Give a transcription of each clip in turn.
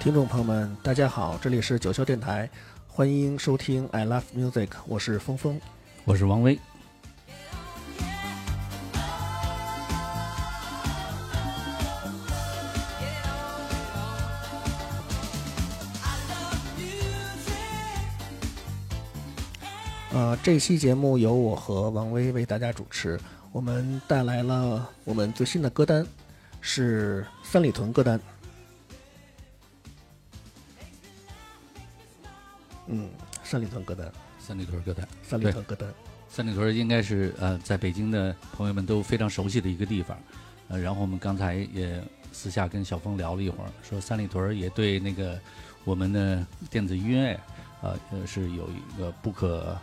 听众朋友们，大家好，这里是九霄电台，欢迎收听 I Love Music， 我是峰峰， 我是王威。 这期节目由我和王威为大家主持，我们带来了我们最新的歌单，是三里屯歌单。三里屯歌单， 三里屯歌单， 三里屯歌单， 三里屯应该是在北京的朋友们都非常熟悉的一个地方。然后我们刚才也私下跟小峰聊了一会儿，说三里屯也对那个我们的电子音乐是有一个不可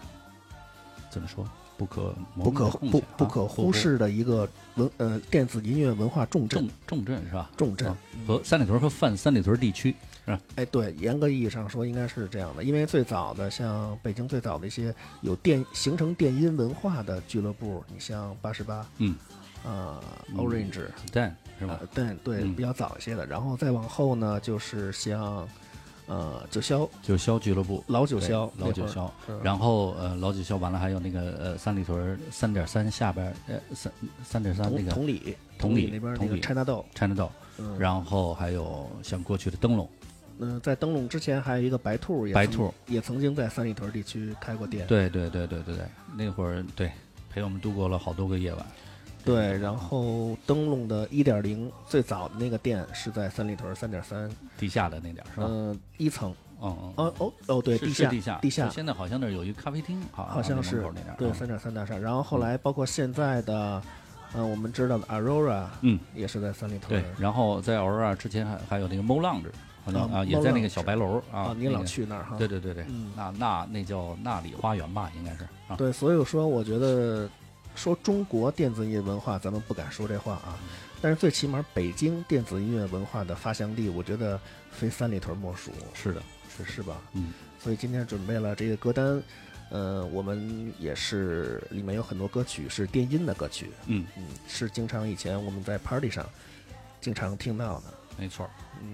忽视的一个电子音乐文化重镇是吧？ 重镇和三里屯和泛三里屯地区是吧？ 哎，对，严格意义上说应该是这样的，因为最早的像北京最早的一些有形成电音文化的俱乐部，你像88，Orange， Dan 是吧？ 对，比较早一些的，然后再往后呢，就是像九霄俱乐部， 老九霄， 然后老九霄完了，还有那个三里屯3.3下边3.3那个同里那边那个 China Doll， 然后还有像过去的灯笼。 在灯笼之前还有一个白兔也曾经在三里屯地区开过店。 对，那会儿对陪我们度过了好多个夜晚。 对，然后灯笼的 1.0 最早的那个店是在三里屯3.3 地下的那点是吧 ？1层。对，地下。 现在好像那儿有一个咖啡厅， 好像是那点。 对，3.3大厦。然后后来包括现在的，我们知道的 Aurora，也是在三里屯。 对，然后在 Aurora 之前还有那个 Mo Lounge，好像也在那个小白楼啊。 你老去那儿哈？ 对，那叫那里花园吧，应该是。 对，所以说我觉得说中国电子音乐文化，咱们不敢说这话啊，但是最起码北京电子音乐文化的发祥地，我觉得非三里屯莫属。 是的， 是吧？所以今天准备了这个歌单，我们也是里面有很多歌曲是电音的歌曲，是经常以前我们在 party 上经常听到的。 没错。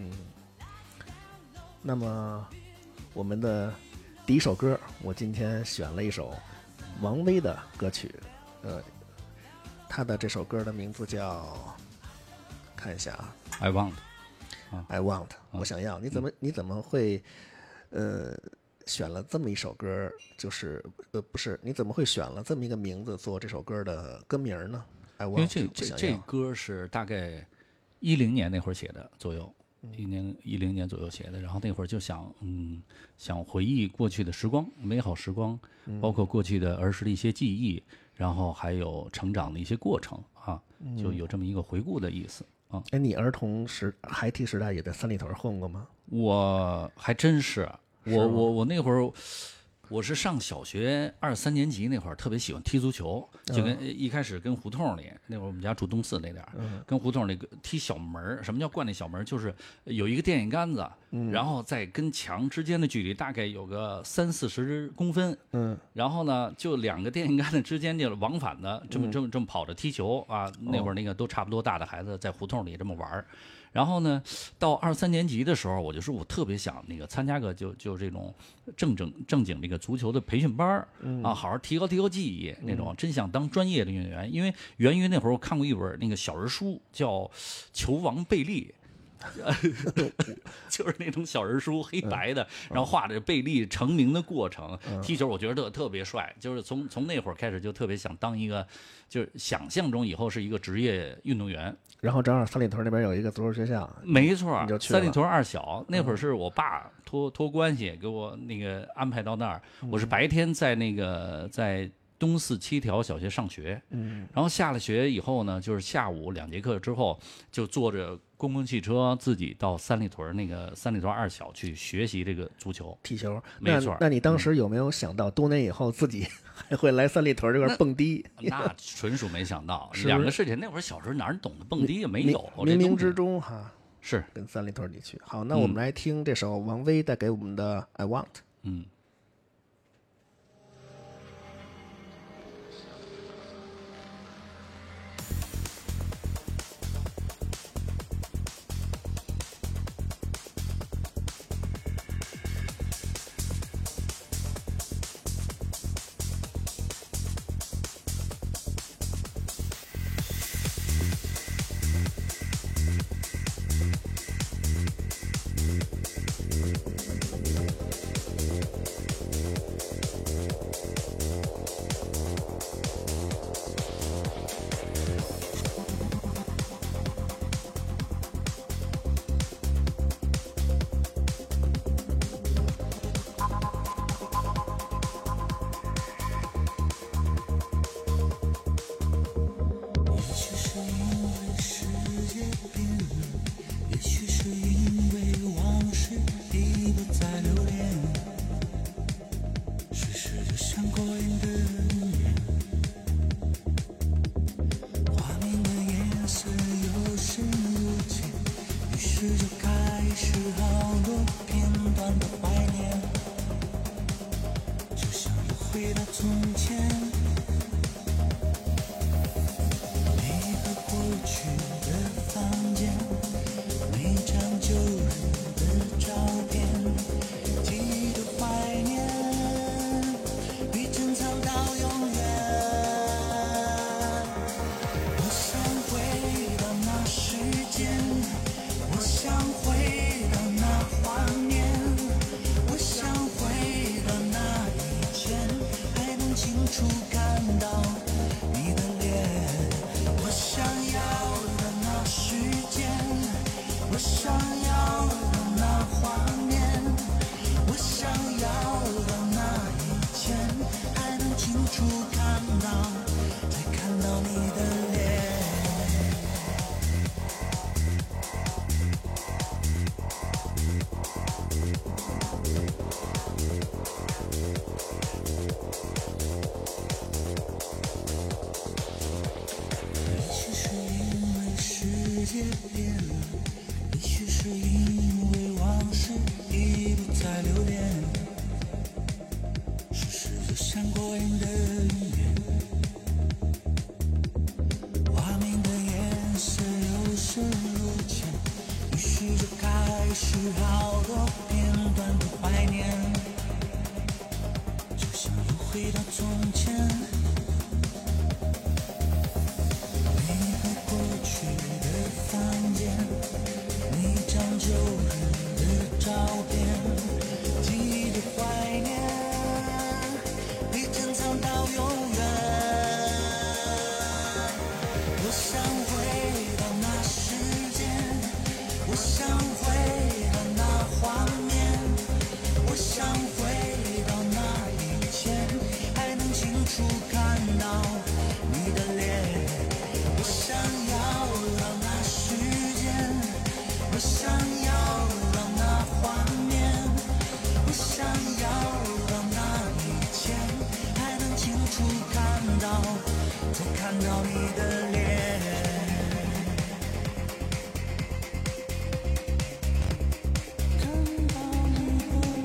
那么我们的第一首歌，我今天选了一首王威的歌曲，他的这首歌的名字叫，看一下啊 ，I want， 我想要。你怎么会选了这么一首歌？就是不是，你怎么会选了这么一个名字做这首歌的歌名呢？ I want， 因为这歌是大概10年那会儿写的左右。10年左右写的，然后那会儿就想回忆过去的时光，美好时光，包括过去的儿时的一些记忆，然后还有成长的一些过程啊，就有这么一个回顾的意思啊。 你儿童孩提时代也在三里屯混过吗？ 我还真是，我那会儿。我是上小学2、3年级那会儿特别喜欢踢足球，就跟一开始跟胡同里那会儿我们家住东四那点儿，跟胡同里踢小门。什么叫灌那小门？就是有一个电线杆子，然后在跟墙之间的距离大概有个30-40公分，然后呢就2个电线杆子之间就往返的这么跑着踢球啊。那会儿那个都差不多大的孩子在胡同里这么玩。然后呢，到2、3年级的时候，我就说我特别想那个参加个就这种正经这个足球的培训班啊，好好提高记忆那种，真想当专业的运动员。因为源于那会儿我看过一本那个小人书，叫《球王贝利》。就是那种小人书，黑白的，然后画着贝利成名的过程。踢球我觉得特别帅，就是从那会儿开始就特别想当一个，就是想象中以后是一个职业运动员。 然后正好三里屯那边有一个足球学校， 没错，三里屯2小那会儿是我爸托关系给我那个安排到那儿。我是白天在东四7条小学上学，然后下了学以后呢，就是下午2节课之后，就坐着公共汽车自己到三里屯2小去学习这个足球踢球。 没错。 那你当时有没有想到多年以后自己还会来三里屯这块蹦迪？ 那纯属没想到，2个事情。那会儿小时候哪懂得蹦迪也没有， 冥冥之中哈是跟三里屯地区。好，那我们来听这首王威带给我们的 I Want。 界变了，也许是因为往事已不再留恋，世事就像过眼的云烟，画面的颜色有深如浅，于是就开始好多片段的怀念，就像又回到从前。旧日的照片，记忆的怀念，被珍藏到永远。我想回到那时间，我想回到那画面，我想回到那以前，还能清楚看到你的脸。我想要到那时间，我想要到那画面，我想要到那以前，还能清楚看到，再看到你的脸。看到你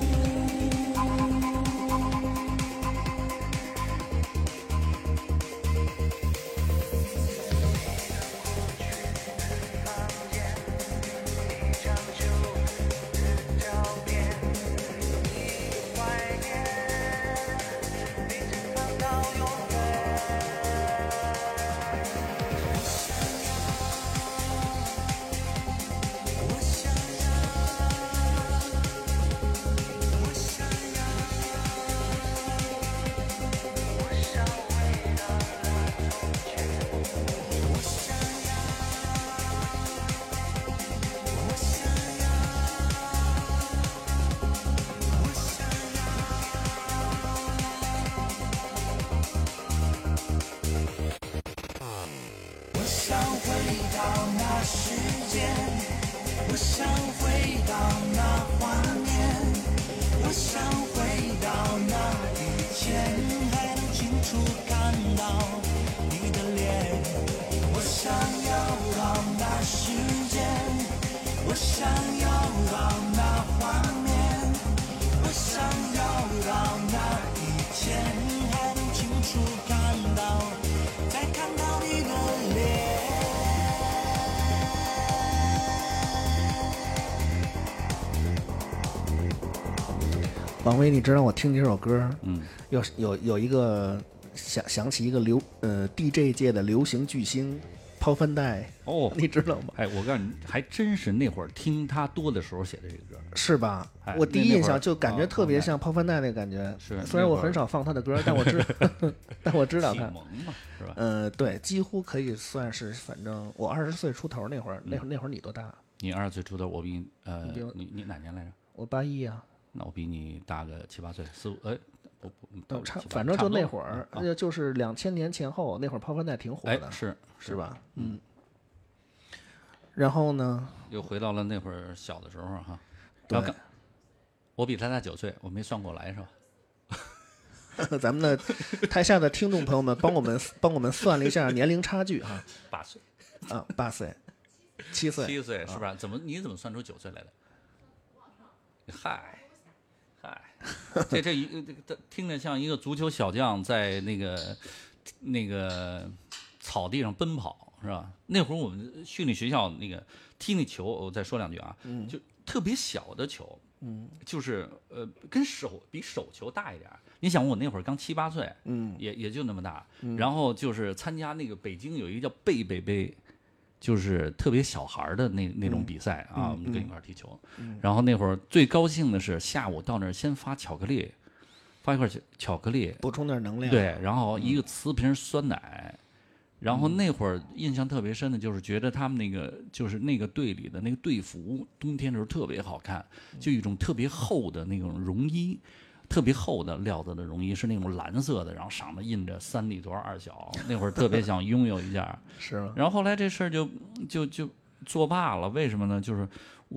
我想回到那画面，我想回到那以前，还能清楚看到你的脸。我想要到那时间，我想要到那画面，我想要到那以前，还能清楚看到，再看到你的脸。 王威，你知道我听这首歌，有一个想起一个DJ 界的流行巨星抛帆带哦， 你知道吗？ 哎，我告诉你，还真是那会儿听他多的时候写的这个歌， 是吧？ 哎、 我第一印象就感觉特别像抛帆带那感觉。 是， 虽然我很少放他的歌，但我知道他。 启蒙嘛，是吧？ 对，几乎可以算是，反正我20岁出头那会儿，那会儿你多大？ 你20岁出头，我比你哪年来着？ 我81啊。 那我比你大个7、8岁，4、5，不， 反正就那会儿，就是2000年前后，那会儿抛帆带挺火的，是吧？嗯。然后呢？ 又回到了那会儿小的时候哈。对。我比他大9岁，我没算过来是吧？ 咱们的台下的听众朋友们，帮我们算了一下年龄差距哈。 8岁。 啊，8岁，7岁。 7岁是吧？你怎么算出9岁来的？嗨。这听着像一个足球小将在那个草地上奔跑是吧？那会儿我们训练学校那个踢那球，我再说两句啊，就特别小的球，就是跟比手球大一点。你想我那会儿刚7、8岁，也就那么大，然后就是参加那个北京有一个叫贝贝杯。就是特别小孩的那种比赛啊，我们跟一块踢球。然后那会儿最高兴的是下午到那儿先发巧克力，发一块巧克力， 补充点能量。 对，然后一个瓷瓶酸奶。然后那会儿印象特别深的就是觉得他们就是那个队里的那个队服，冬天的时候特别好看，就一种特别厚的那种绒衣。特别厚的料子的绒衣是那种蓝色的，然后上面印着3里多2小，那会儿特别想拥有一件。 是吗？ 然后后来这事儿就作罢了，为什么呢？就是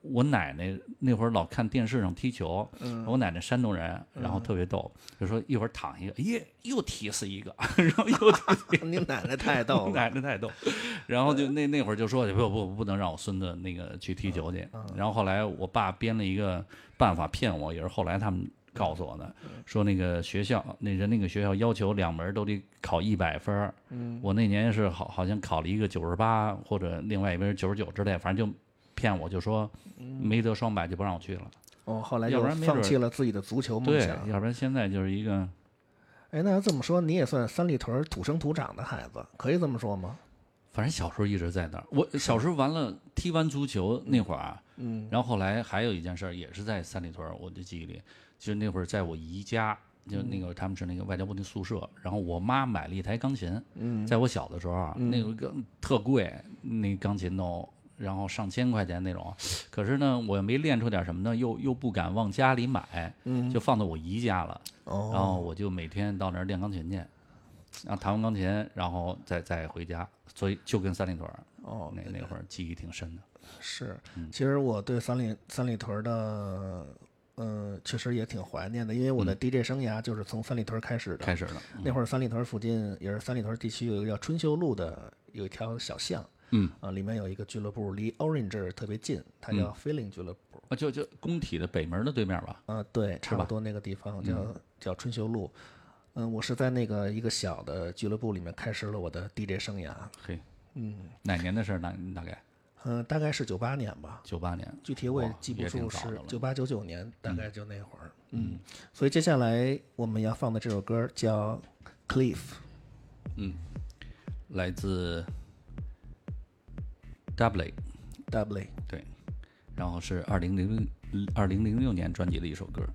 我奶奶那会儿老看电视上踢球，我奶奶山东人，然后特别逗，就说一会儿躺一个，又踢死一个，然后又踢死一个。 你奶奶太逗了， 奶奶太逗，然后就那会儿就说不能让我孙子那个去踢球去，然后后来我爸编了一个办法骗我，也是后来他们告诉我的，说那个学校那个学校要求2门都得考100分，我那年是好像考了一个98，或者另外一边99之类，反正就骗我，就说没得双百就不让我去了。 哦，后来就要不然没准放弃了自己的足球梦对， 想。 要不然现在就是一个。 哎，那要这么说，你也算三里屯土生土长的孩子，可以这么说吗？ 反正小时候一直在那儿。我小时候踢完足球那会儿啊，然后后来还有一件事也是在三里屯，我的记忆里，就是那会儿在我姨家，就那个他们是那个外交部的宿舍，然后我妈买了一台钢琴，在我小的时候啊，那个特贵，那钢琴都。然后上千块钱那种，可是呢，我没练出点什么呢，又不敢往家里买，就放到我姨家了。然后我就每天到那儿练钢琴去，然后弹完钢琴，然后再回家，所以就跟三里屯那会儿记忆挺深的。 是，其实我对三里屯的，确实也挺怀念的，因为我的 DJ 生涯就是从三里屯开始的。那会儿三里屯附近也是三里屯地区有一个叫春秀路的，有一条小巷。里面有一个俱乐部，离 Orange 特别近，它叫 Feeling 俱乐部。 就工体的北门的对面吧？ 对，差不多那个地方叫春秀路。我是在那个一个小的俱乐部里面开始了我的 DJ 生涯。 嘿，哪年的事儿？大概？ 大概是98年吧。 98年， 具体我也记不住，是98、99年，大概就那会儿。所以接下来我们要放的这首歌叫 Cliff。 来自。Double， 对，然后是2006年专辑的一首歌，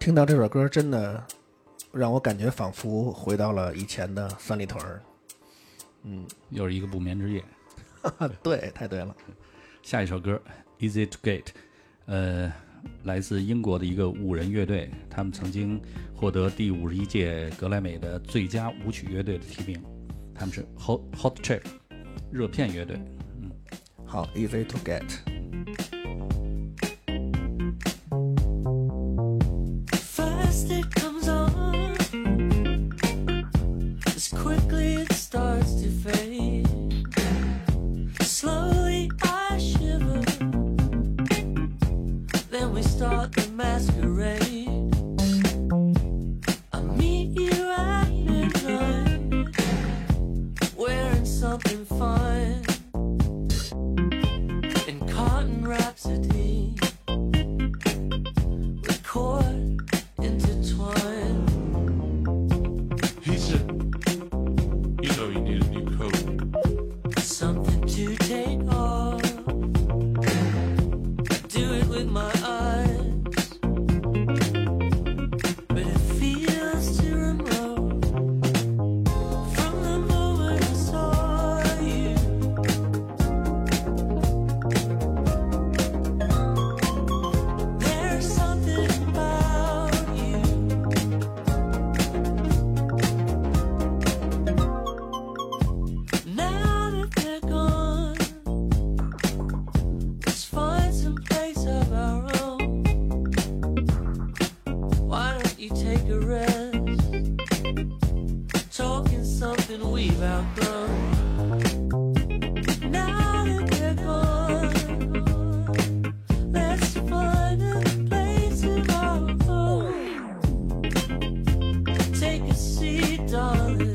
听到这首歌真的让我感觉仿佛回到了以前的三里屯。 又是一个不眠之夜。 对，太对了。 下一首歌 Easy to Get， 来自英国的一个5人乐队，他们曾经获得第51届格莱美的最佳舞曲乐队的提名，他们是 Hot Chip 热片乐队。 好 Easy to Get。 First it comes on, as quickly it starts to fade. Slowly I shiver, then we start the masquerade. I meet you at midnight, wearing something fine, in cotton rhapsody, with cord intertwined. He said, you know you need a new coat. Something to take off. I do it with my eyes, but it feels too remote. From the moment I saw you, there's something about you. Now that they're gone, let's find some place of our own. Why don't you take a rest? Talking something we've outgrown. Now that they're gone, let's find a place of our own. Take a seat, darling.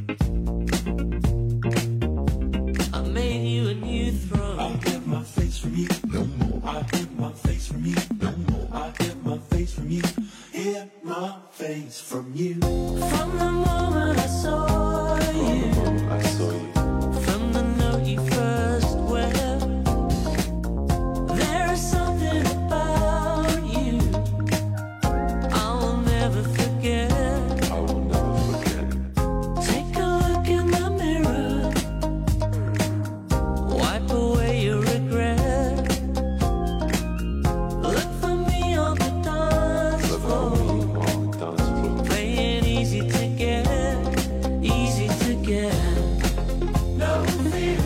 I made you a new throne. I hid my face from you, no more. I hid my face from you, no more. I hid my face from you, hid my face from you. From the moment I saw you, I saw you. from the note you first wept, there is something about you I will never forget. I will never forget. Take a look in the mirror, wipe away your regret. Look for me on the dance Look floor, at me on the dance floor. playing easy to get, easy to get. No fear,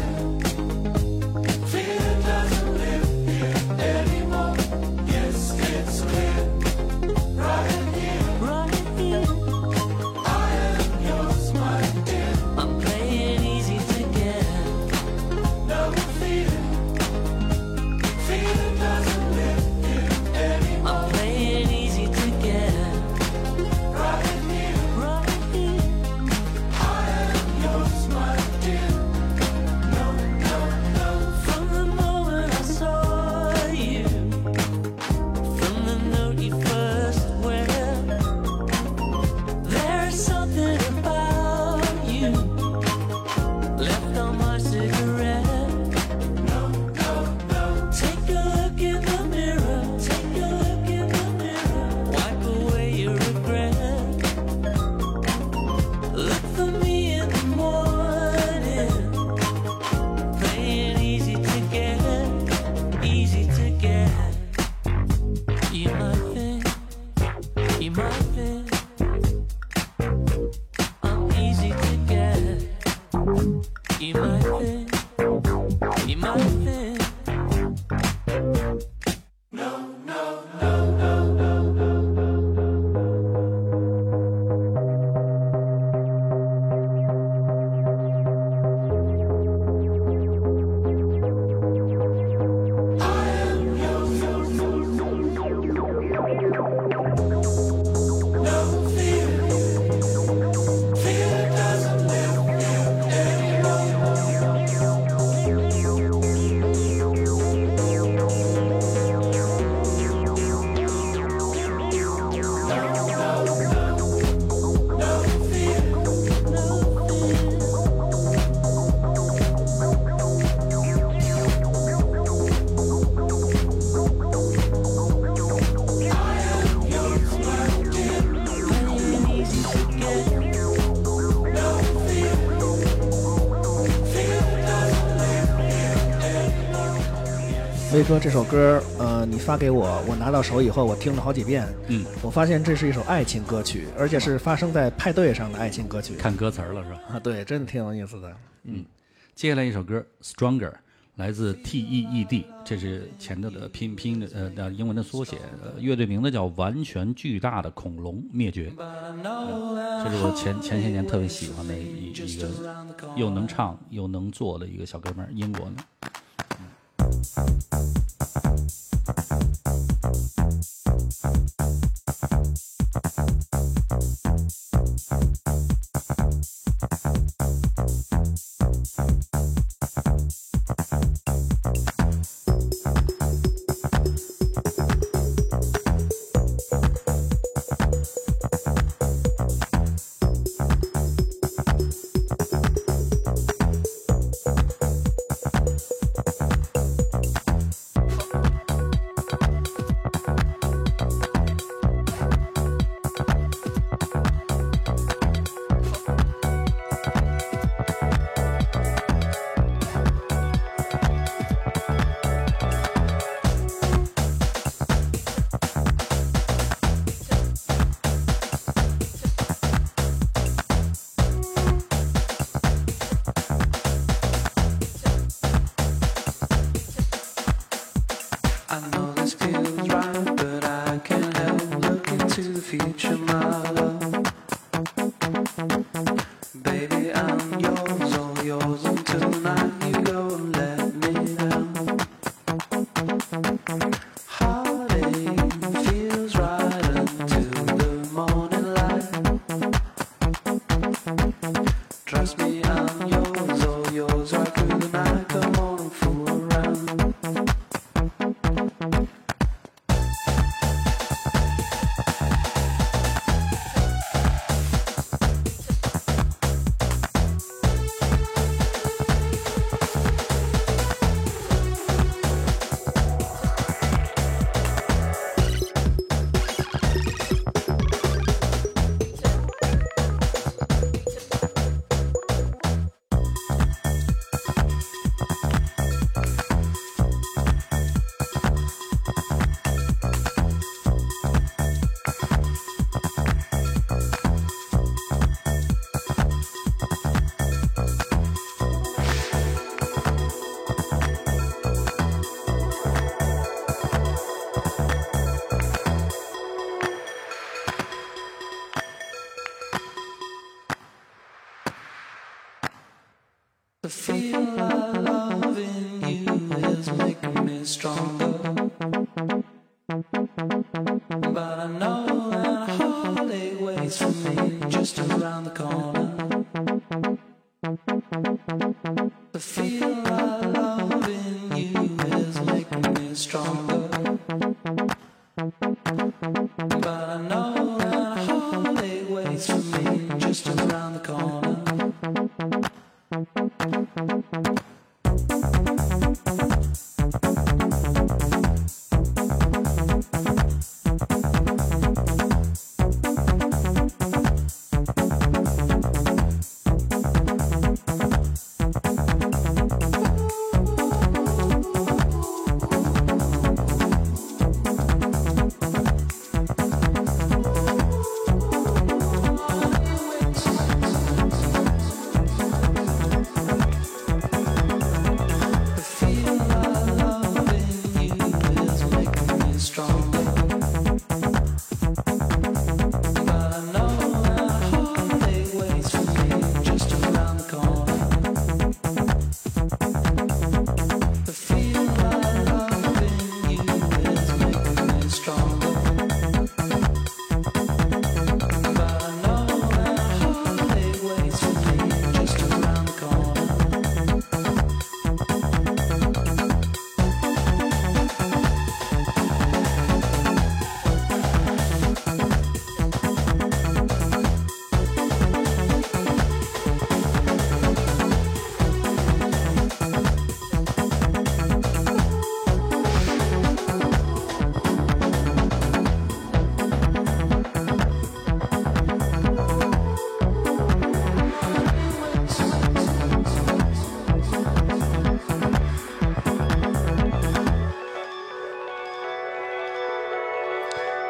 fear doesn't live here anymore. Yes, it's clear, right here. Right here, I am yours, my dear. I'm playing easy to get. No fear, fear doesn't live here anymore. I'm playing easy to get. Right here, Right here, I am yours, my dear. No, no, no. from the moment I saw you, from the note you first wept, there's something about you left on my cigarette. Take a look in the mirror, take a look in the mirror, wipe away your regret. Look for me in the morning, playing easy to get, easy to get. You might think, you might think I'm easy to get. You might think, you might think. Fear doesn't live here anymore. 威哥这首歌，你发给我，我拿到手以后，我听了好几遍。我发现这是一首爱情歌曲，而且是发生在派对上的爱情歌曲。 看歌词了是吧？ 啊，对，真的挺有意思的。 接下来一首歌《Stronger》，来自 TEED， 这是前头的拼音的英文的缩写。乐队名字叫完全巨大的恐龙灭绝。这是我前些年特别喜欢的一个又能唱又能做的一个小哥们儿，英国的。 I know this feels right, but I can't help looking to the future, my love. Baby, I'm yours, all yours until tonight you go and let me down. Heartache feels right until the morning light. Trust me, I'm yours, all yours right through the night. Come on and fool around. The feel I love in you is making me stronger. But I know that heartache waits for me just around the corner. The feel I love in you is making me stronger. But I know that heartache waits for me just around the corner.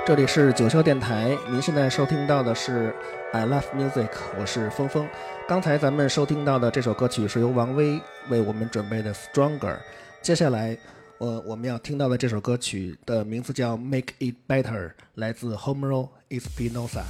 这里是九霄电台，您现在收听到的是 I Love Music， 我是峰峰。刚才咱们收听到的这首歌曲是由王威为我们准备的 Stronger。接下来，我们要听到的这首歌曲的名字叫 Make It Better， 来自 Homero Espinosa。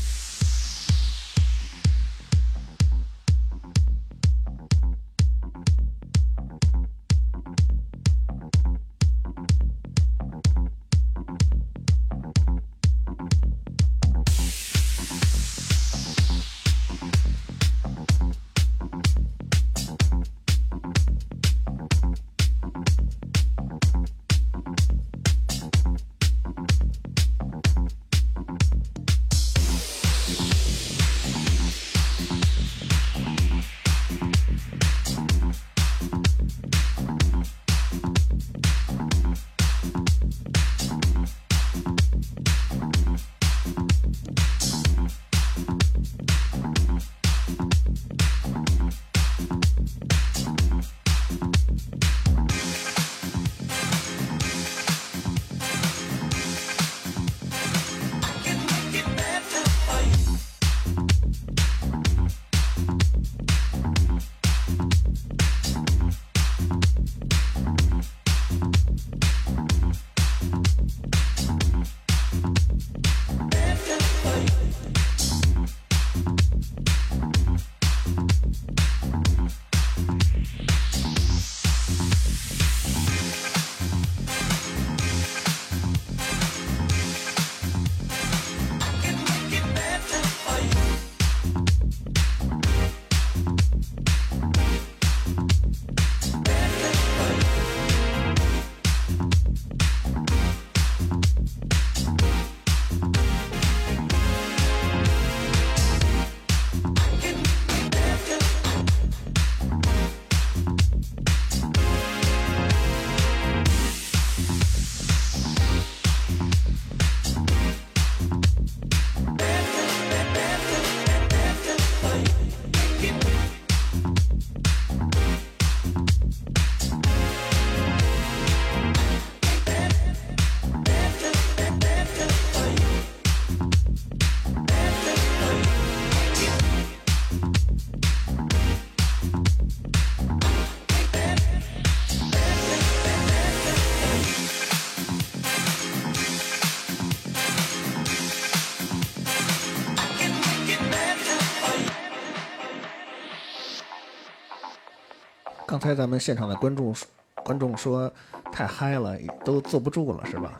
刚才咱们现场的观众说太嗨了，都坐不住了，是吧？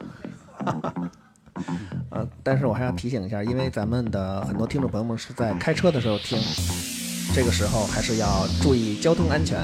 但是我还要提醒一下，因为咱们的很多听众朋友们是在开车的时候听，这个时候还是要注意交通安全。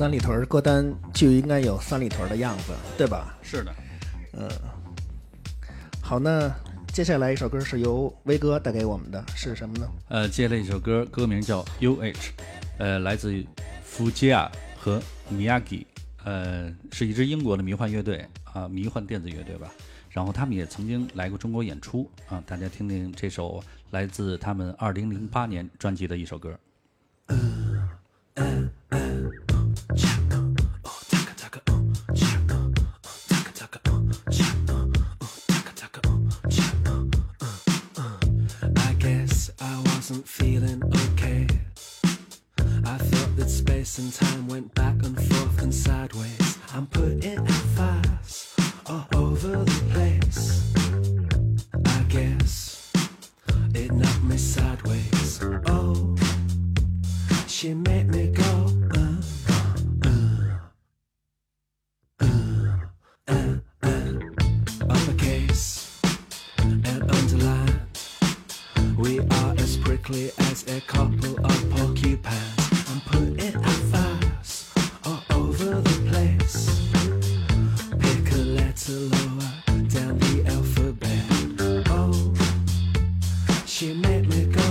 三里屯歌单就应该有三里屯的样子，对吧？ 是的， 好，那接下来一首歌是由威哥带给我们的，是什么呢？ 接了一首歌，歌名叫 UH， 来自于福吉亚和 Miyagi， 是一支英国的迷幻乐队啊，迷幻电子乐队吧。然后他们也曾经来过中国演出啊，大家听听这首来自他们2008年专辑的一首歌。 Feeling okay. I thought that space and time went back and forth and sideways. I'm putting out fires all over the place. I guess it knocked me sideways. Oh, she made me go. Uppercase and underline. We are as prickly as a couple of porcupines. I'm putting out fires all over the place. Pick a letter lower down the alphabet. Oh, she made me go.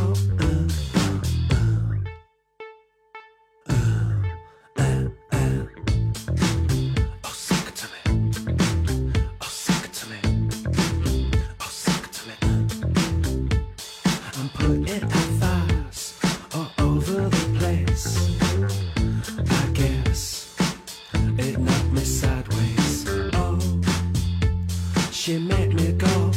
Oh, suck it to me. Oh, suck it to me. Oh, suck it to me. I'm putting out fires all over the place. I guess it knocked me sideways. Oh, she made me go.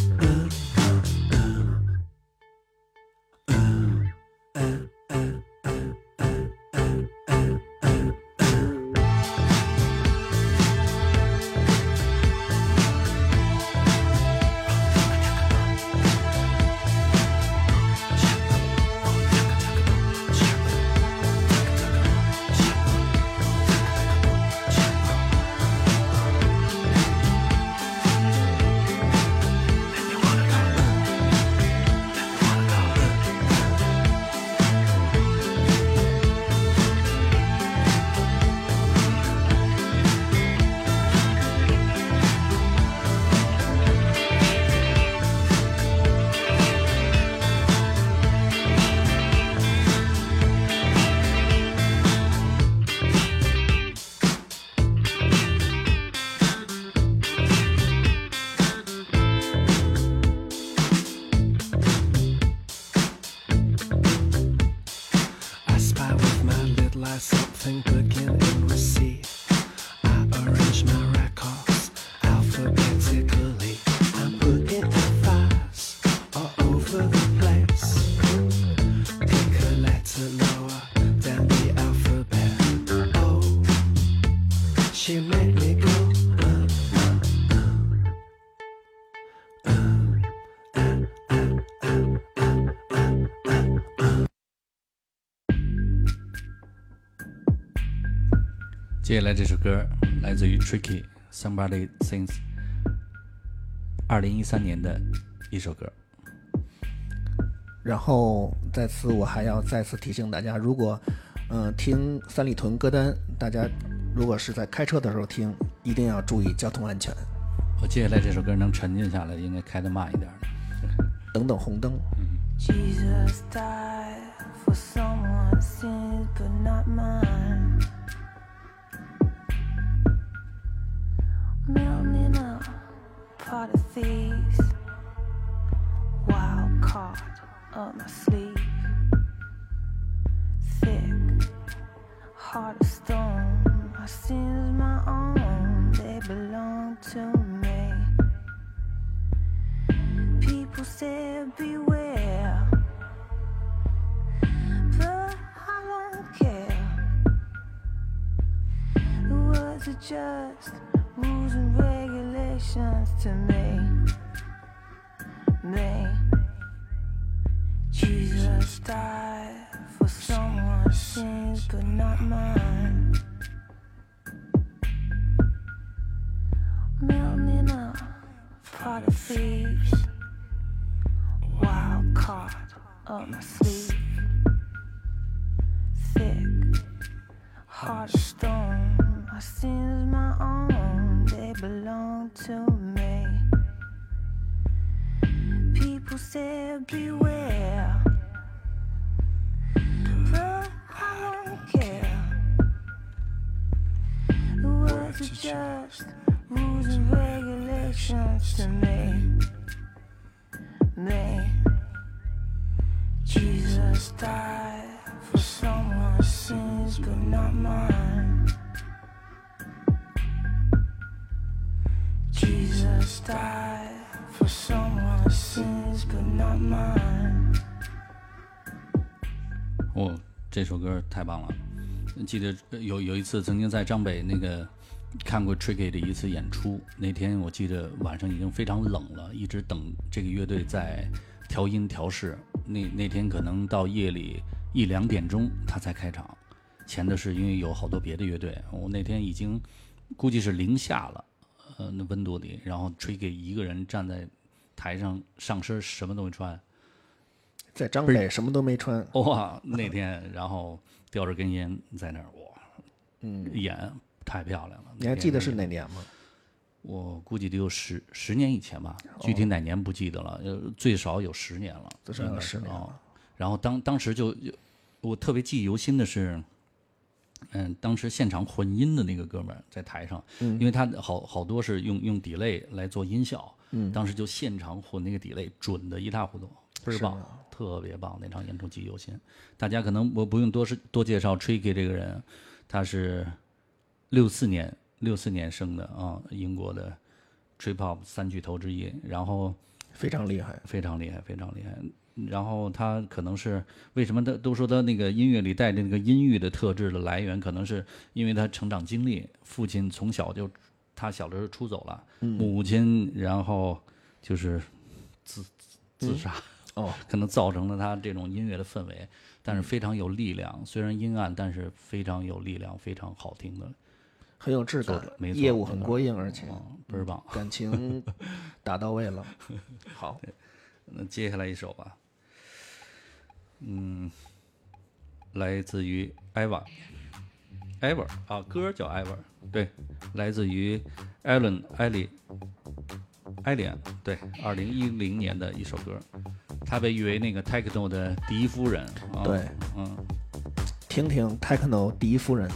I spy with my little eye something begin and receive. I arrange my records alphabetically. I'm putting out fires all over the place. Pick a letter lower down the alphabet. Oh, she made me go. 接下来这首歌来自于 Tricky Somebody Sings， 2013年的一首歌。 然后在此我还要再次提醒大家，如果听三里屯歌单，大家如果是在开车的时候听，一定要注意交通安全。 我接下来这首歌能沉浸下来，应该开得慢一点。 等等红灯。 Jesus died for someone's sins, but not mine. Melting a pot of thieves, wild card up my sleeve. Thick, heart of stone, my sins my own, they belong to me. People say beware, but I don't care. The words are just rules and regulations to me. Jesus died for someone's sins, but not mine. Melting a pot of thieves, wild card up my sleeve. Thick, heart of stone, to me. People said beware, but I don't care. The words are just rules and regulations to me. Jesus died for someone's sins, but not mine. Jesus died for someone's sins, but not mine. 哦，这首歌太棒了！记得有一次曾经在张北那个看过 Tricky 的一次演出，那天我记得晚上已经非常冷了，一直等这个乐队在调音调试。那天可能到夜里1、2点钟他才开场，前的是因为有好多别的乐队。我那天已经估计是零下了，那温度里，然后 Tricky 一个人站在台上，上身什么都没穿， 在张北什么都没穿。 哇，那天然后叼着根烟在那儿，哇，演太漂亮了。 你还记得是哪年吗？ 我估计得有十年以前吧，具体哪年不记得了，最少有10年了， 最少有10年了。 然后当时就我特别记忆犹新的是，当时现场混音的那个哥们儿在台上，因为他好多是用 delay 来做音效，当时就现场混那个 delay 准的一塌糊涂，倍儿棒，特别棒，那场演出记忆犹新。大家可能我不用多介绍 Tricky 这个人，他是64年生的啊，英国的 Trip Hop 3巨头之一，然后非常厉害， 非常厉害，非常厉害。然后他可能是为什么都说他那个音乐里带着那个阴郁的特质的来源，可能是因为他成长经历，父亲从小就他小的时候出走了，母亲然后就是自杀，可能造成了他这种音乐的氛围，但是非常有力量，虽然阴暗，但是非常有力量，非常好听的。 很有质感， 没错， 业务很过硬，而且倍儿棒， 感情打到位了。好， 那接下来一首吧，来自于 Ever 啊，歌叫 Ever， 对，来自于 Allen 艾莉安，对，2010年的一首歌，她被誉为那个 Techno 的第一夫人。 对，听听 Techno 第一夫人。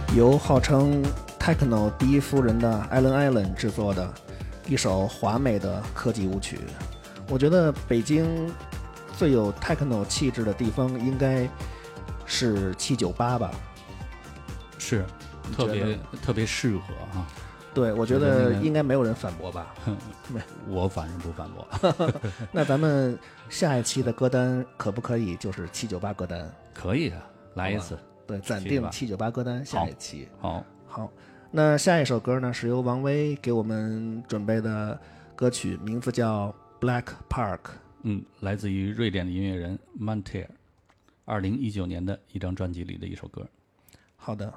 由号称 Techno 第一夫人的 Allen 制作的一首华美的科技舞曲。我觉得北京最有 Techno 气质的地方应该是798吧， 是特别适合啊。 对，我觉得应该没有人反驳吧。 我反正不反驳。 那咱们下一期的歌单可不可以就是798歌单？ 可以的，来一次。 对，暂定798歌单，下一期。 好， 那下一首歌呢，是由王威给我们准备的歌曲，名字叫 Black Park。 来自于瑞典的音乐人 Manter，2019年的一张专辑里的一首歌。 好的。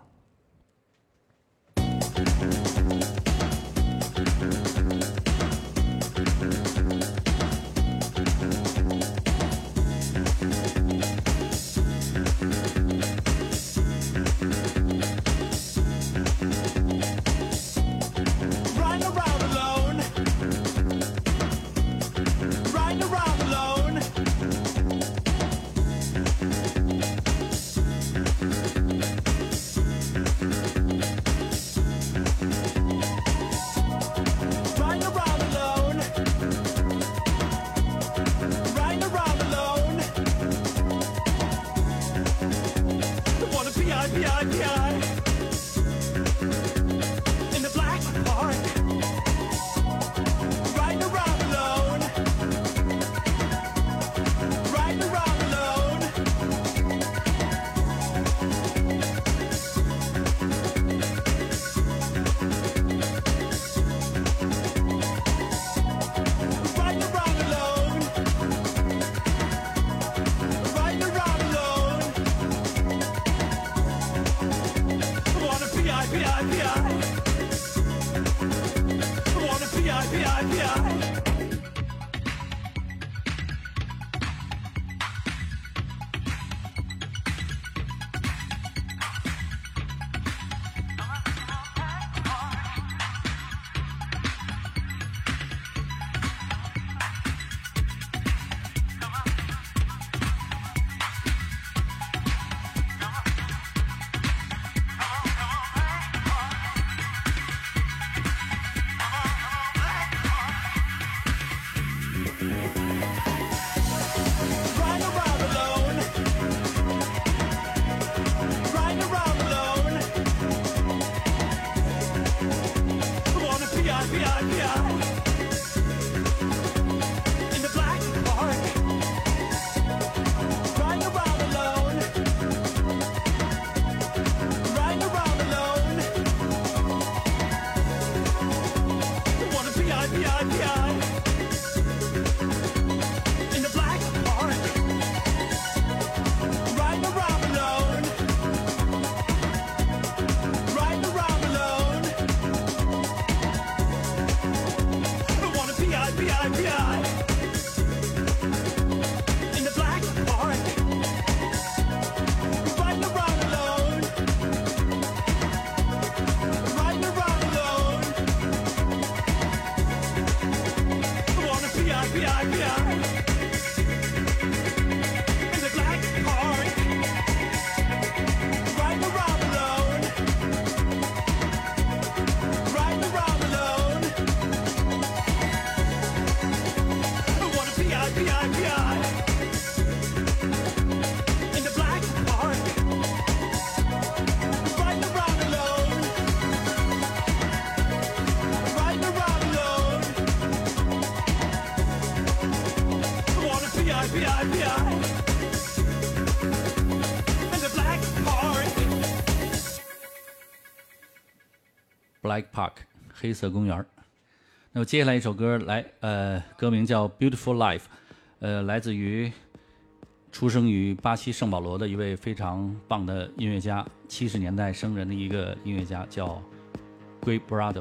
Black Park 黑色公园。那么接下来一首歌歌名叫 Beautiful Life， 来自于出生于巴西圣保罗的一位非常棒的音乐家，70年代生人的一个音乐家叫 Gui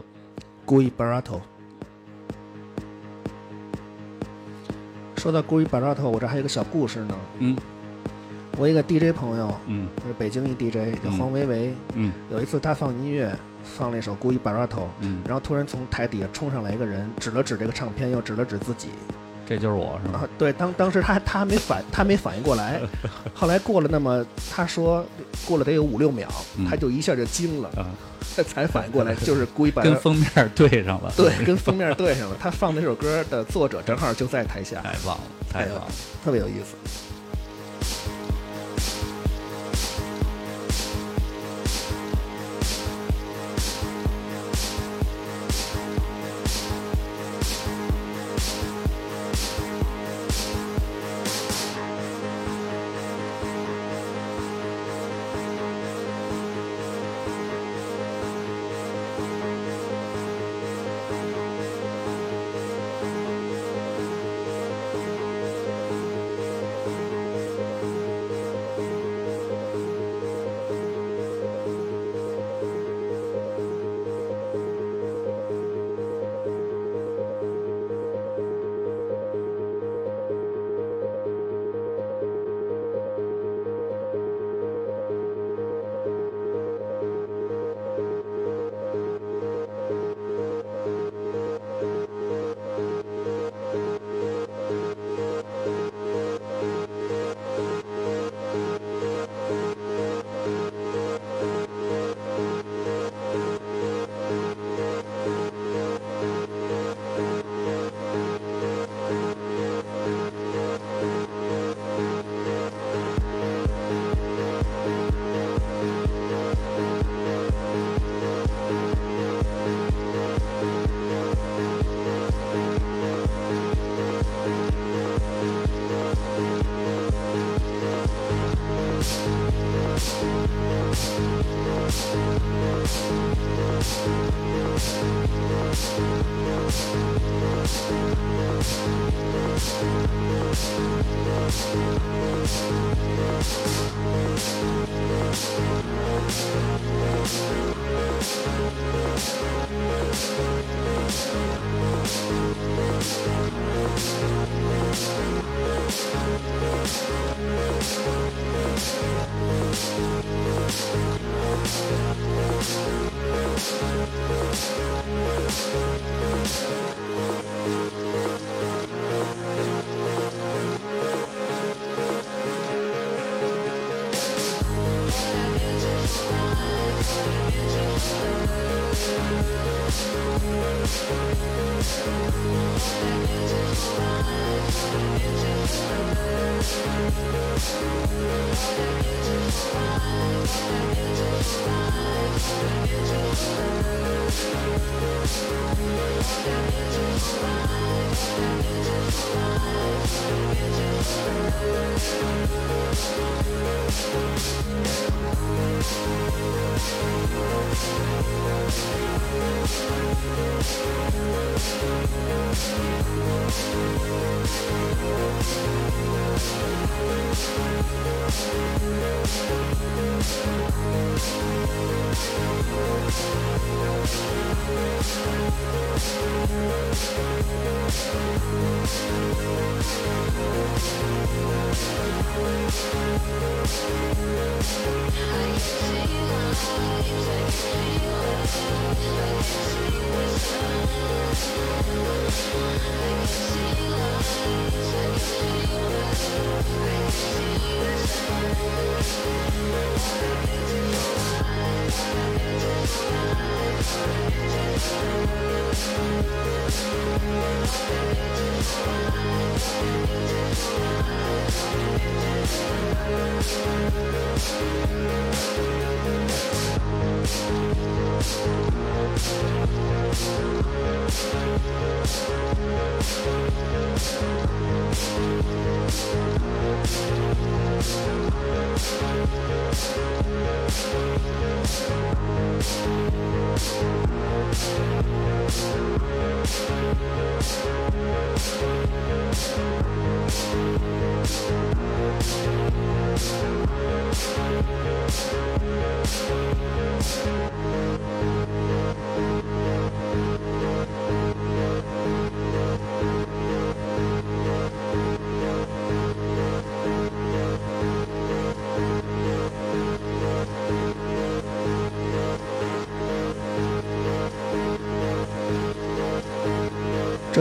Barato。 说到 Gui Barato， 我这还有个小故事呢。我一个 DJ 朋友，是北京一 DJ 叫黄维维，有一次他放音乐，放了一首 Gui Barato，然后突然从台底下冲上来一个人，指了指这个唱片，又指了指自己， 这就是我是吗？ 啊，对，当时他没反应过来，后来过了那么他说过了得有5-6秒，他就一下就惊了，才反应过来，就是故意把跟封面对上了。 对跟封面对上了。他放那首歌的作者正好就在台下， 太棒了，太棒了。 特别有意思。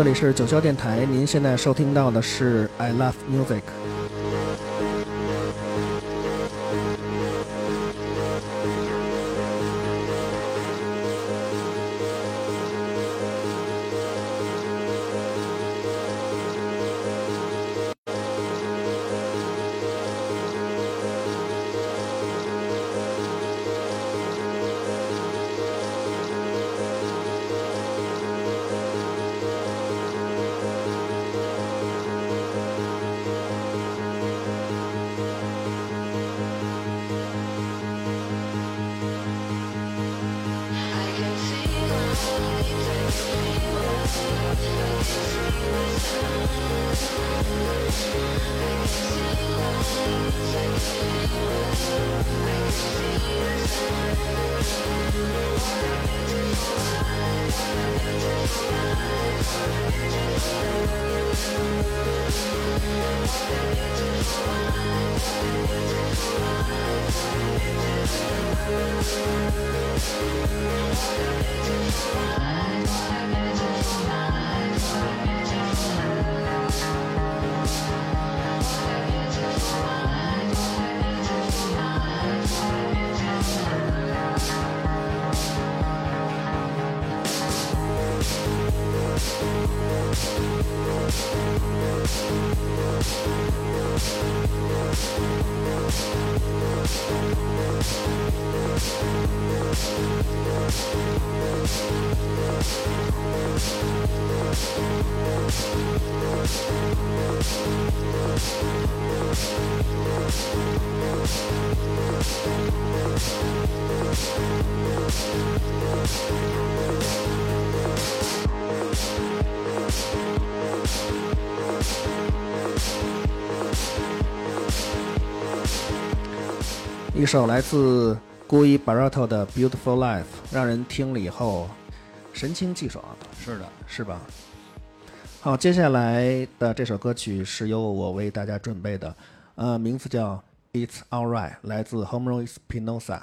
这里是九霄电台，您现在收听到的是 I Love Music。一首来自 Guy Barato 的 Beautiful Life， 让人听了以后神清气爽。 是的， 是吧？好，接下来的这首歌曲是由我为大家准备的，名字叫 It's Alright， 来自 Homero Espinosa。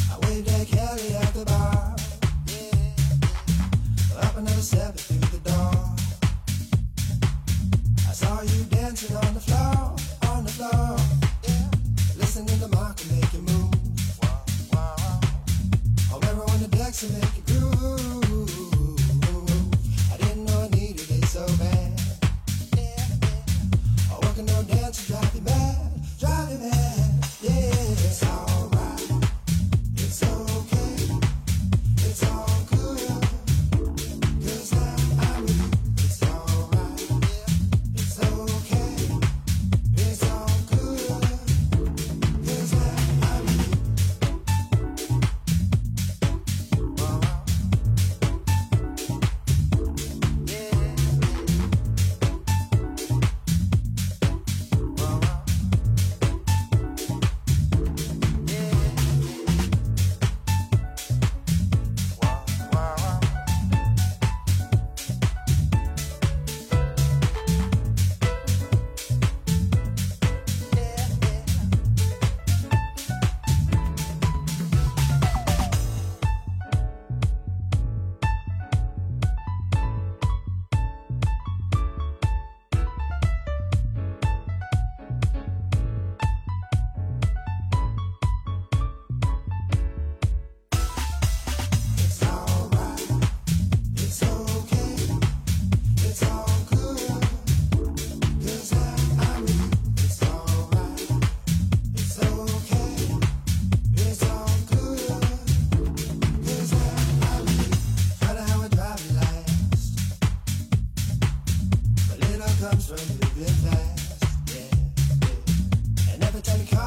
Kelly at the bar, yeah. Up another step through the door.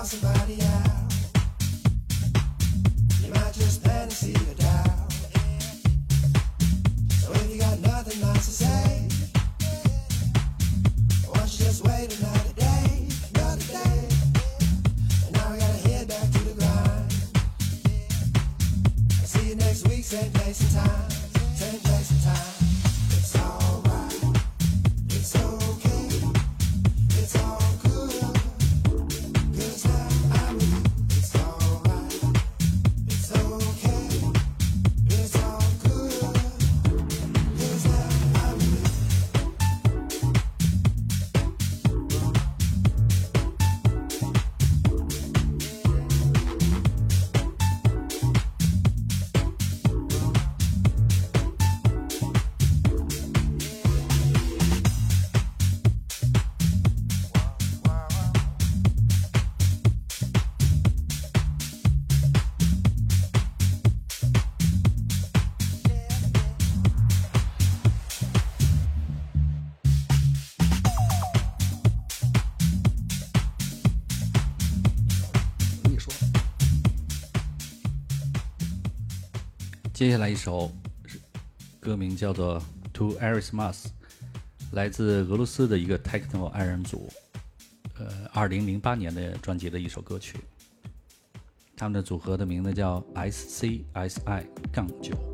call somebody out. You might just fantasy the doubt. So if you got nothing nice to say, why don't you just wait another day, another day? And now we gotta head back to the grind. I'll see you next week, same place and time, same place and time. It's alright, it's okay, it's all good. 'Cause now I'm with you. It's alright, it's okay, it's all good. 'Cause now I'm with you. 你说， 接下来一首歌名叫做《To Erismas》，来自俄罗斯的一个 techno 二人组，2008年的专辑的一首歌曲。他们的组合的名字叫 SCSI-9。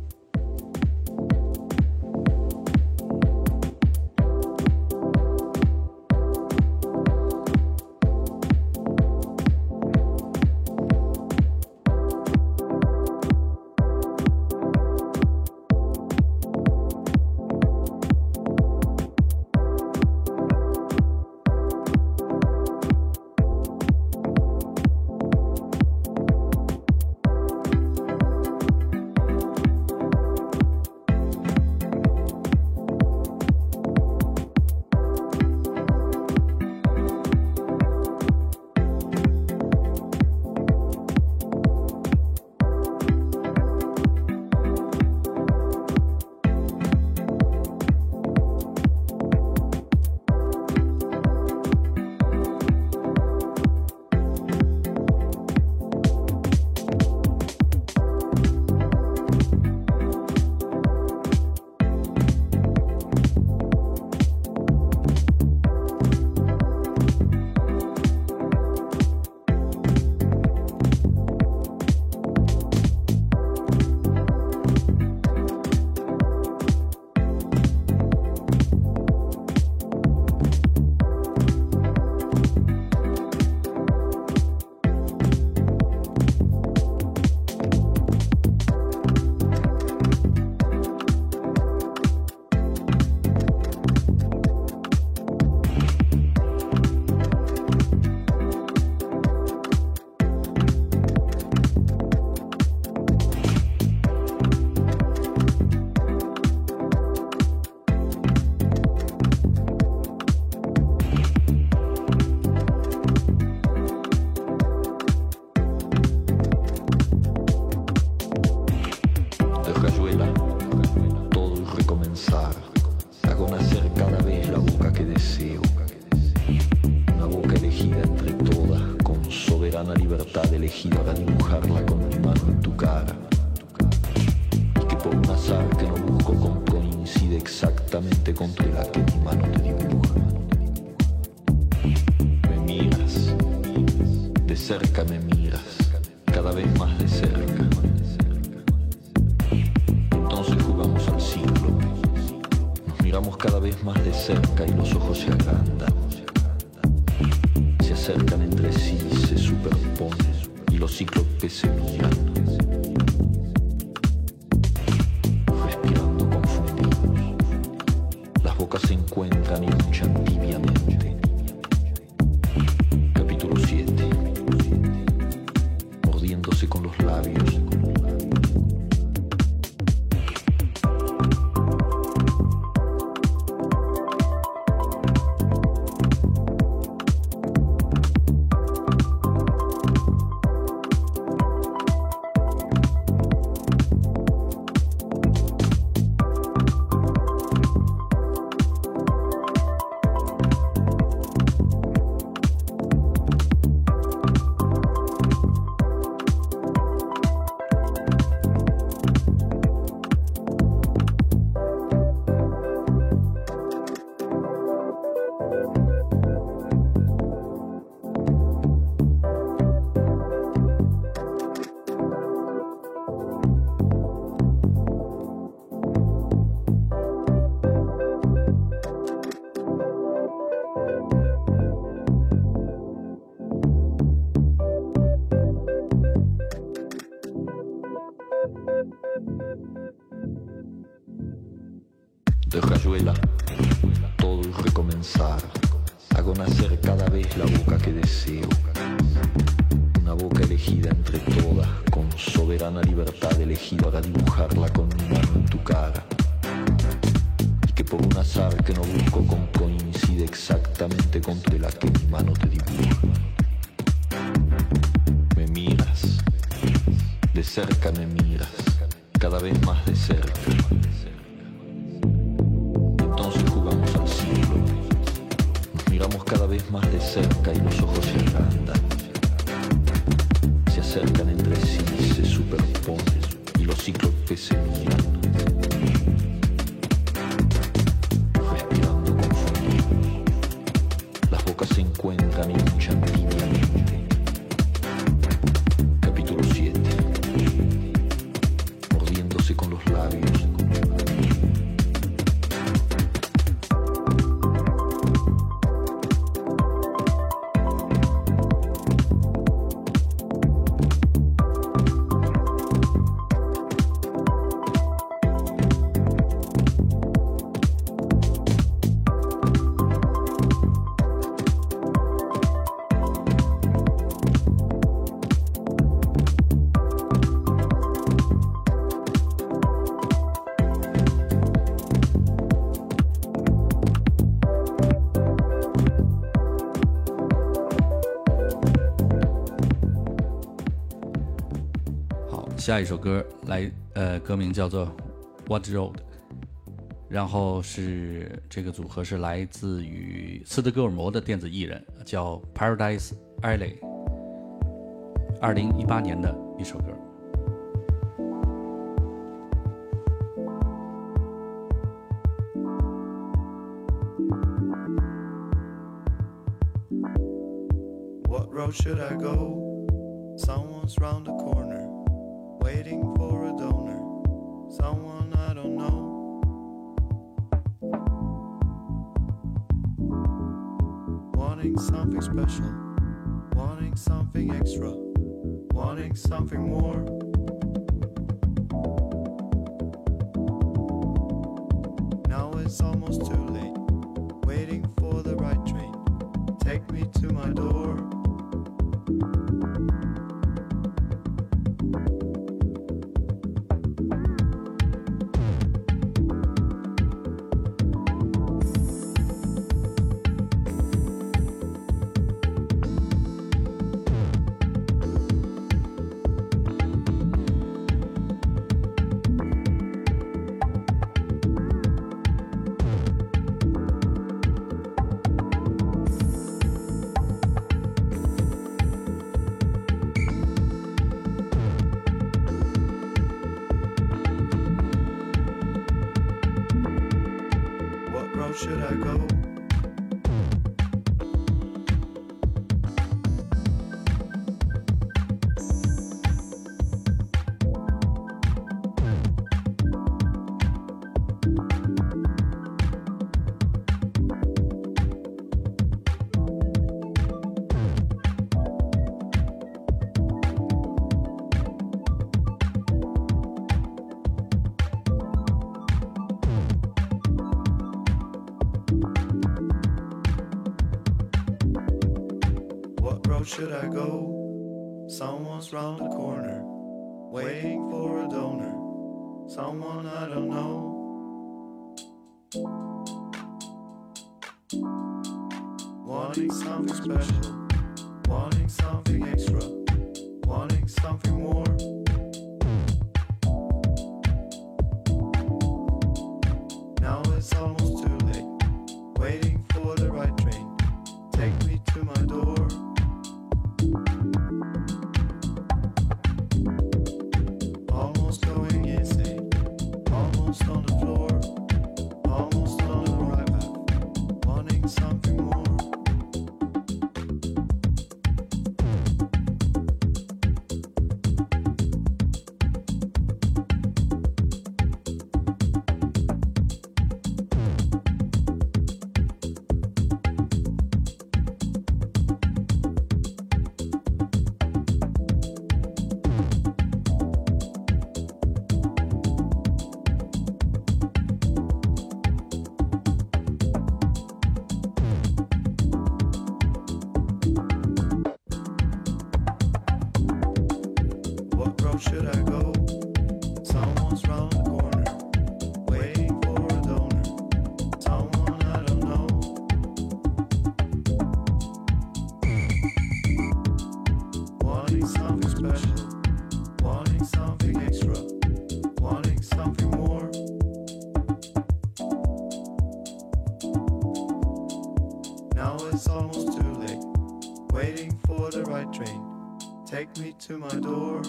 soberana libertad elegí para dibujarla con mi mano en tu cara. Y que por un azar que no busco coincide exactamente contra la que mi mano te dibuja. Me miras, de cerca me miras, cada vez más de cerca. Entonces jugamos al ciclo. Nos miramos cada vez más de cerca y los ojos se agrandan. Se acercan entre sí, se superponen y los cíclopes se miran. Respirando confundidos, las bocas se encuentran y luchan tibiamente. Capítulo 7. Mordiéndose con los labios. Hago nacer cada vez la boca que deseo. Una boca elegida entre todas, con soberana libertad elegido para dibujarla con mi mano en tu cara. Y que por un azar que no busco coincide exactamente con la que mi mano te dibuja. Me miras, de cerca me miras, cada vez más de cerca. Entonces jugamos al siglo. Nos miramos cada vez más de cerca y los ojos se agrandan. Se acercan entre sí, se superponen y los cíclopes se miran. Respirando confundidos, las bocas se encuentran y luchan tibiamente. Capítulo 7. Mordiéndose con los labios. 下一首歌歌名叫做 What Road， 然后是这个组合是来自于斯德哥尔摩的电子艺人，叫 Paradise Alley， 2018年的一首歌。 What road should I go? Someone's round the corner, waiting for a donor. Someone I don't know. Wanting something special, wanting something extra, wanting something more. Now it's almost too late, waiting for the right train. Take me to my door. What road should I go? What road should I go? Someone's round the corner, waiting for a donor. Someone I don't know. Wanting something special, wanting something extra, wanting something more. Now it's almost too late, waiting for the right train. Take me to my door. Almost going insane, almost on the floor, almost on the right path, wanting something more. road should I go? Someone's round the corner, waiting for a donor. Someone I don't know. Wanting something special, wanting something extra, wanting something more. Now it's almost too late, waiting for the right train. Take me to my door.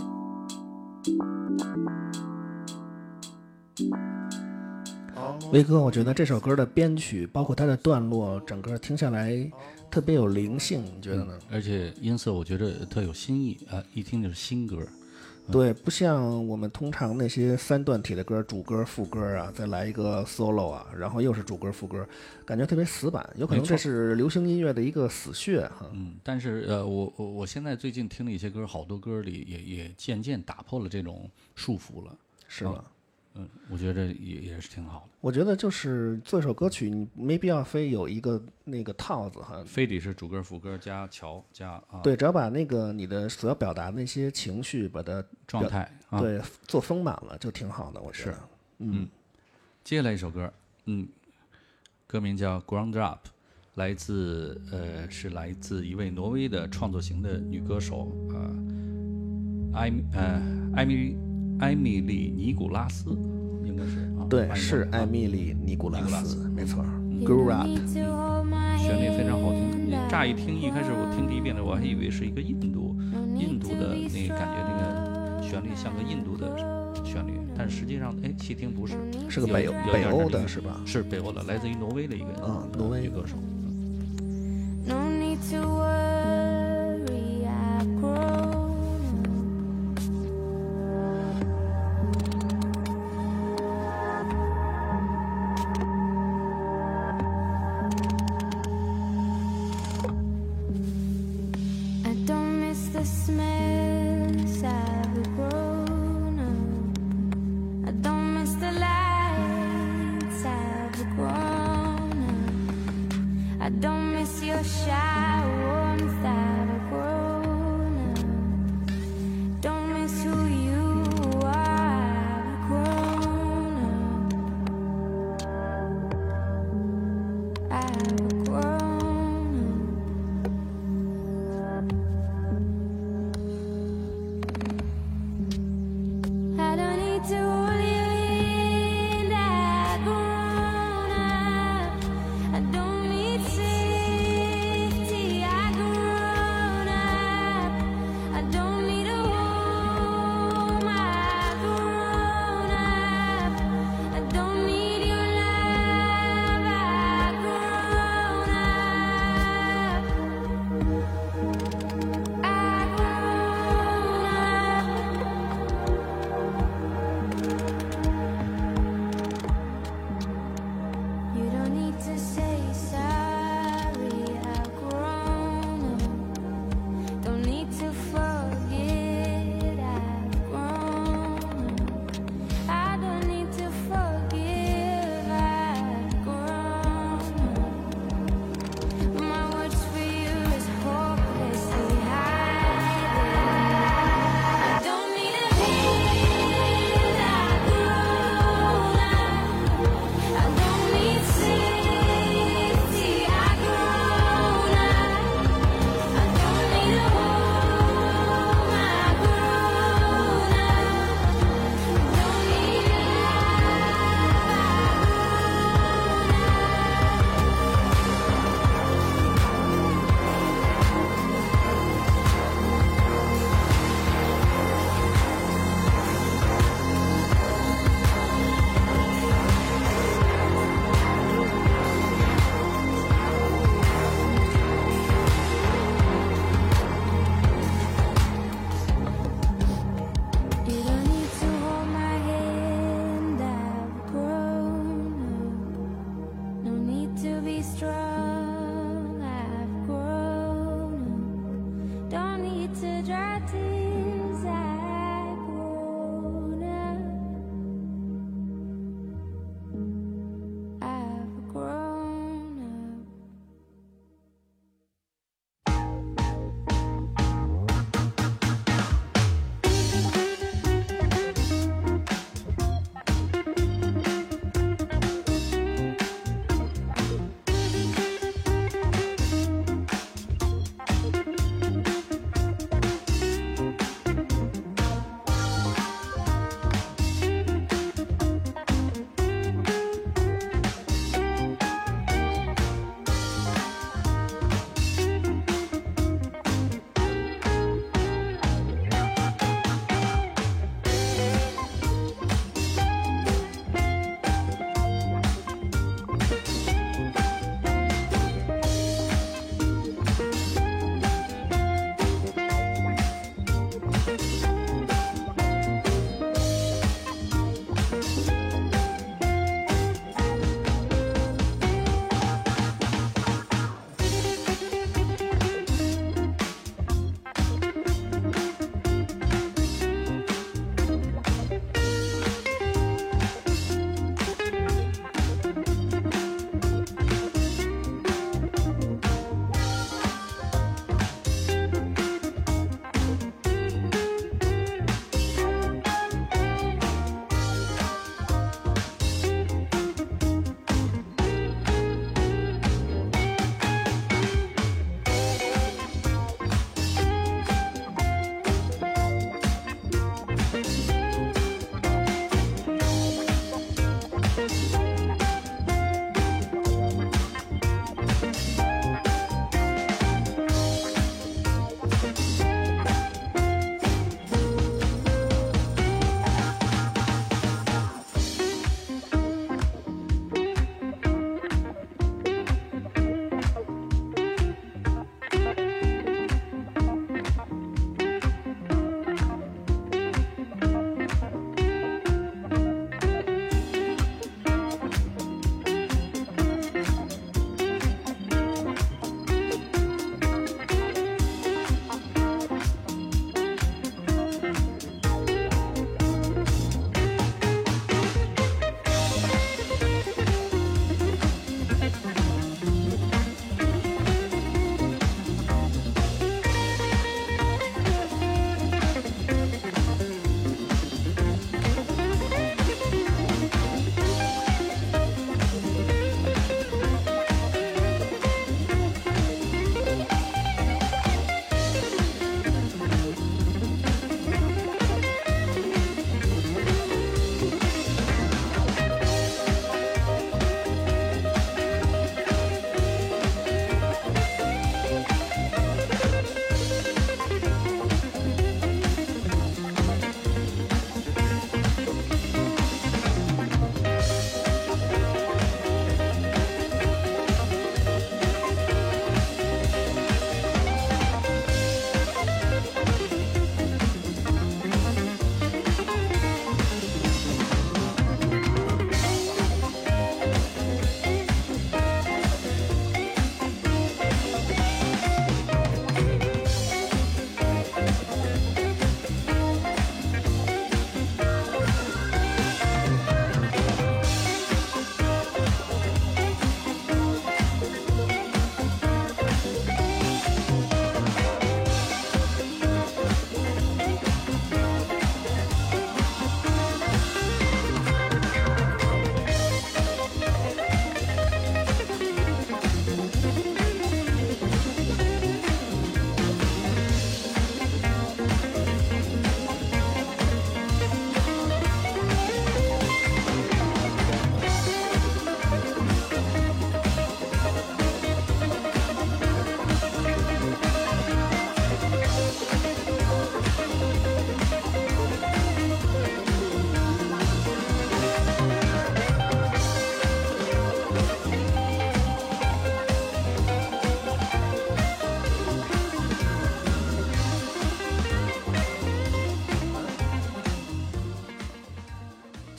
威哥，我觉得这首歌的编曲，包括它的段落，整个听下来特别有灵性，你觉得呢？ 而且音色我觉得特有新意啊，一听就是新歌。 对，不像我们通常那些三段体的歌，主歌副歌啊，再来一个 solo 啊，然后又是主歌副歌，感觉特别死板。有可能这是流行音乐的一个死穴哈。 但是我现在最近听了一些歌，好多歌里也渐渐打破了这种束缚了， 是吧？ 我觉得也是挺好的。 我觉得就是做一首歌曲，你没必要非有一个那个套子哈， 非得是主歌副歌加桥加啊。 对，只要把那个你的所要表达的那些情绪，把它状态对做丰满了，就挺好的。我觉得。 接下来一首歌，歌名叫《Ground Up》，是来自一位挪威的创作型的女歌手艾米丽·尼古拉斯，应该是啊， 对，是艾米丽·尼古拉斯，没错。Grow Up， 旋律非常好听。乍一听，一开始我听第一遍的，我还以为是一个印度的那个感觉，那个旋律像个印度的旋律，但实际上，细听不是， 是个北欧的是吧？ 是北欧的，来自于挪威的一个挪威女歌手。 No need to worry, I've grown. I don't miss the smells I've grown up. I don't miss the lights I've grown up. I don't miss your shy warmth I've grown up. Don't miss who you are, I've grown up. I've grown up. I don't need to hold your hand, I've grown up. I don't need safety, I've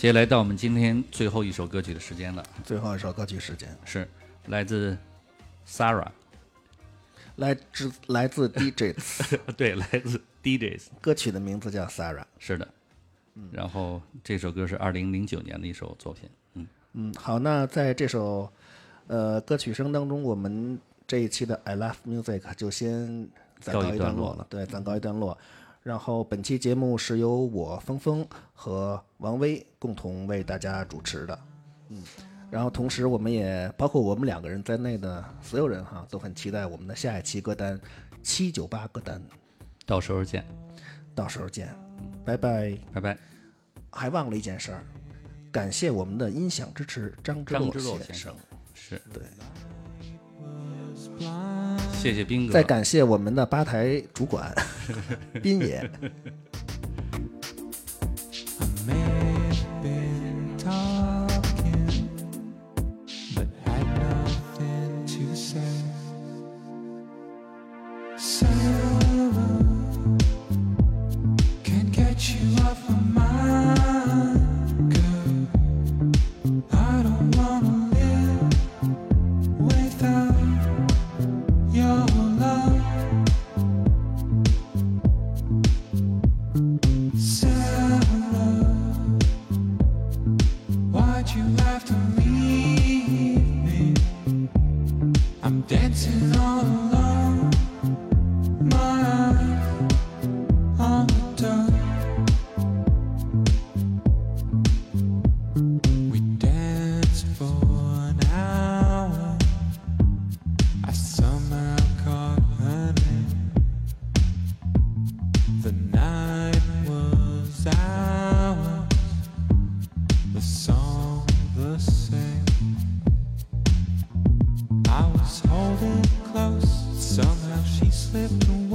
接下来到我们今天最后一首歌曲的时间了。 最后一首歌曲时间是来自 Sarah， 来自 DJs， 对，来自 DJs， 歌曲的名字叫 Sarah。 是的，然后这首歌是2009年的一首作品。 好，那在这首歌曲声当中，我们这一期的 I Love Music 就先暂告一段落了。对，暂告一段落。然后本期节目是由我峰峰和王威共同为大家主持的。然后同时我们也包括我们2个人在内的所有人哈，都很期待我们的下一期歌单798歌单。 到时候见， 拜拜， 拜拜。 还忘了一件事儿，感谢我们的音响支持张之洛先生。 是， 对。 谢谢斌哥。 再感谢我们的吧台主管斌爷。 Somehow she slipped away.